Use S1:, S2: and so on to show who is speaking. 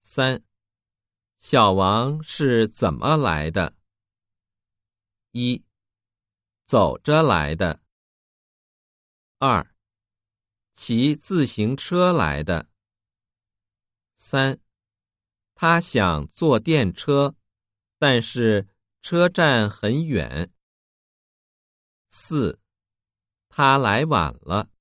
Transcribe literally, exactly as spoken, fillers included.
S1: 三、小王是怎么来的？一、走着来的。二、骑自行车来的。三、他想坐电车，但是车站很远。四、他来晚了。